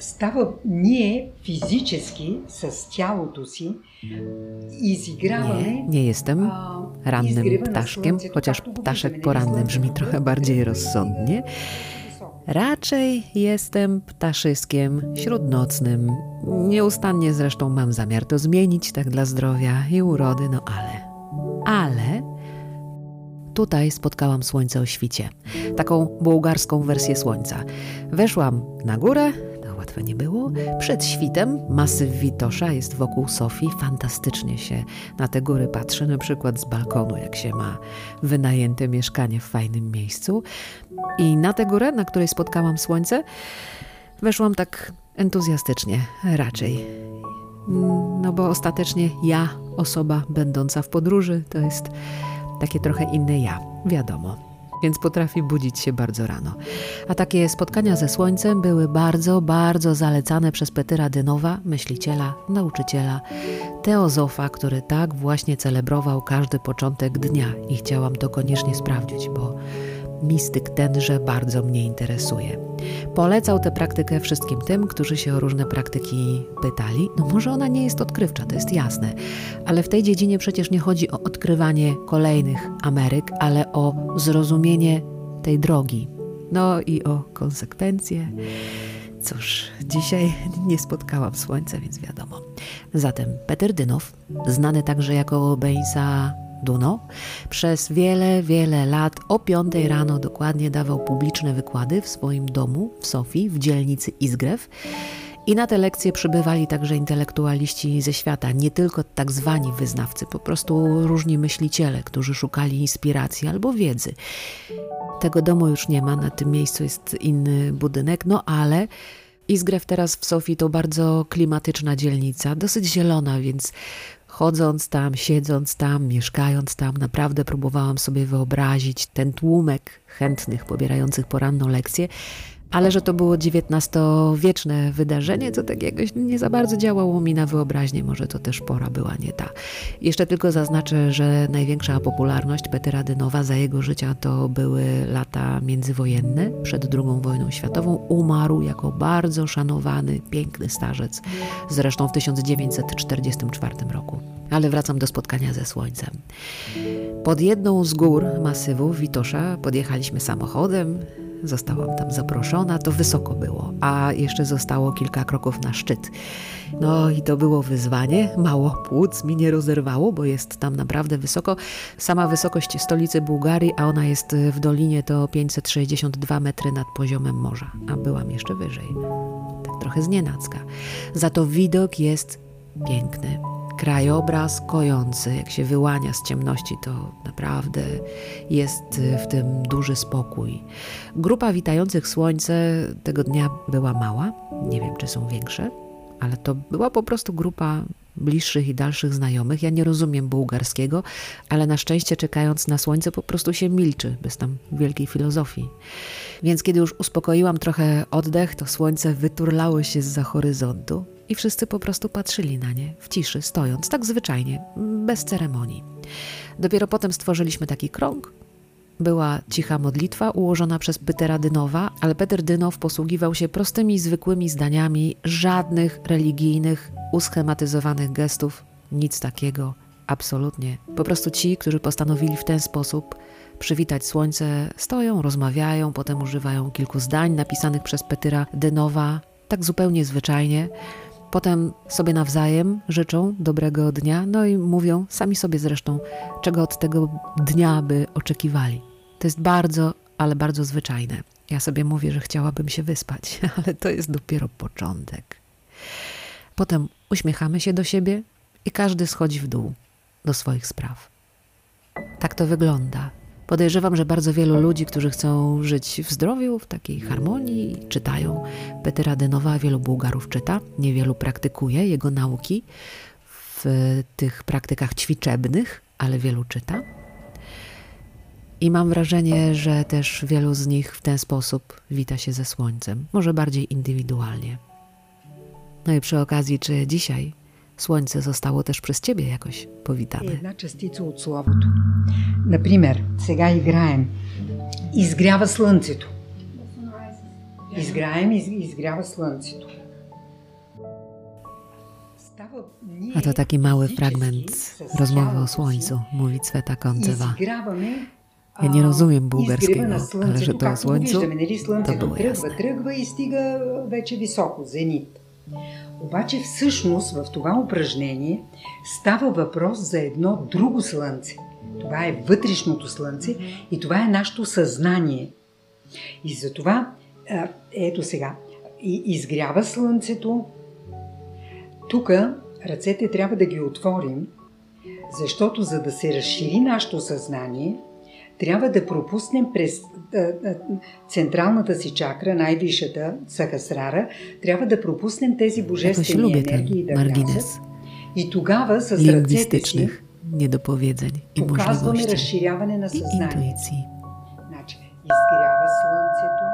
става ние физически с тялото си изиграваме. Nie jestem rannym ptaszkiem, chociaż ptaszek poranny brzmi trochę bardziej rozsądnie. Raczej jestem ptaszyskiem śródnocnym. Nieustannie zresztą mam zamiar to zmienić, tak dla zdrowia i urody, no ale tutaj spotkałam słońce o świcie. Taką bułgarską wersję słońca. Weszłam na górę, to łatwe nie było. Przed świtem masyw Witosza jest wokół Sofii. Fantastycznie się na te góry patrzy, na przykład z balkonu, jak się ma wynajęte mieszkanie w fajnym miejscu. I na tę górę, na której spotkałam słońce, weszłam tak entuzjastycznie, raczej. No bo ostatecznie ja, osoba będąca w podróży, to jest takie trochę inne ja, wiadomo. Więc potrafi budzić się bardzo rano. A takie spotkania ze słońcem były bardzo, bardzo zalecane przez Petyra Dynowa, myśliciela, nauczyciela, teozofa, który tak właśnie celebrował każdy początek dnia i chciałam to koniecznie sprawdzić, bo mistyk tenże bardzo mnie interesuje. Polecał tę praktykę wszystkim tym, którzy się o różne praktyki pytali. No może ona nie jest odkrywcza, to jest jasne, ale w tej dziedzinie przecież nie chodzi o odkrywanie kolejnych Ameryk, ale o zrozumienie tej drogi. No i o konsekwencje. Cóż, dzisiaj nie spotkałam słońca, więc wiadomo. Zatem Petyr Dynow, znany także jako Beisa Duno, przez wiele, wiele lat o 5 rano dokładnie dawał publiczne wykłady w swoim domu w Sofii, w dzielnicy Izgrew. I na te lekcje przybywali także intelektualiści ze świata, nie tylko tak zwani wyznawcy, po prostu różni myśliciele, którzy szukali inspiracji albo wiedzy. Tego domu już nie ma, na tym miejscu jest inny budynek, no ale Izgrew teraz w Sofii to bardzo klimatyczna dzielnica, dosyć zielona, więc chodząc tam, siedząc tam, mieszkając tam, naprawdę próbowałam sobie wyobrazić ten tłumek chętnych pobierających poranną lekcję, ale że to było XIX-wieczne wydarzenie, to tak jakoś nie za bardzo działało mi na wyobraźnię, może to też pora była nie ta. Jeszcze tylko zaznaczę, że największa popularność Petyra Dynowa za jego życia to były lata międzywojenne, przed II wojną światową. Umarł jako bardzo szanowany, piękny starzec, zresztą w 1944 roku. Ale wracam do spotkania ze słońcem. Pod jedną z gór masywu Witosza podjechaliśmy samochodem. Zostałam tam zaproszona, to wysoko było, a jeszcze zostało kilka kroków na szczyt. No i to było wyzwanie, mało płuc mi nie rozerwało, bo jest tam naprawdę wysoko. Sama wysokość stolicy Bułgarii, a ona jest w dolinie, to 562 metry nad poziomem morza, a byłam jeszcze wyżej. Tak trochę znienacka. Za to widok jest piękny. Krajobraz kojący, jak się wyłania z ciemności, to naprawdę jest w tym duży spokój. Grupa witających słońce tego dnia była mała, nie wiem czy są większe, ale to była po prostu grupa bliższych i dalszych znajomych. Ja nie rozumiem bułgarskiego, ale na szczęście czekając na słońce po prostu się milczy, bez tam wielkiej filozofii. Więc kiedy już uspokoiłam trochę oddech, to słońce wyturlało się zza horyzontu i wszyscy po prostu patrzyli na nie w ciszy, stojąc, tak zwyczajnie, bez ceremonii. Dopiero potem stworzyliśmy taki krąg. Była cicha modlitwa ułożona przez Petyra Dynowa, ale Petyr Dynow posługiwał się prostymi, zwykłymi zdaniami, żadnych religijnych, uschematyzowanych gestów, nic takiego, absolutnie. Po prostu ci, którzy postanowili w ten sposób przywitać słońce, stoją, rozmawiają, potem używają kilku zdań napisanych przez Petyra Dynowa, tak zupełnie zwyczajnie. Potem sobie nawzajem życzą dobrego dnia, no i mówią sami sobie zresztą, czego od tego dnia by oczekiwali. To jest bardzo, ale bardzo zwyczajne. Ja sobie mówię, że chciałabym się wyspać, ale to jest dopiero początek. Potem uśmiechamy się do siebie i każdy schodzi w dół do swoich spraw. Tak to wygląda. Podejrzewam, że bardzo wielu ludzi, którzy chcą żyć w zdrowiu, w takiej harmonii, czytają Petyra Dynowa, wielu Bułgarów czyta, niewielu praktykuje jego nauki w tych praktykach ćwiczebnych, ale wielu czyta. I mam wrażenie, że też wielu z nich w ten sposób wita się ze słońcem, może bardziej indywidualnie. No i przy okazji, czy dzisiaj słońce zostało też przez ciebie jakoś powitane? Една частица от славото. Например, сега играем. Изгрява слънцето. Изграем, изгрява слънцето. A to taki mały fragment rozmowy o słońcu, mówi Cweta Konceva. Ja nie rozumiem bułgarskiego, ale że to o słońcu, to było jasne. Тръгва и стига вече високо, зенит. Обаче всъщност в това упражнение става въпрос за едно друго слънце. Това е вътрешното слънце и това е нашето съзнание. И затова, ето сега, изгрява слънцето. Тук ръцете трябва да ги отворим, защото за да се разшири нашето съзнание, трябва да пропуснем през централната си чакра, най-висшата, Сахасрара, трябва да пропуснем тези божествени енергии да влязат. И тогава с ръцете си показваме разширяване на съзнанието. Значи, изгрява слънцето.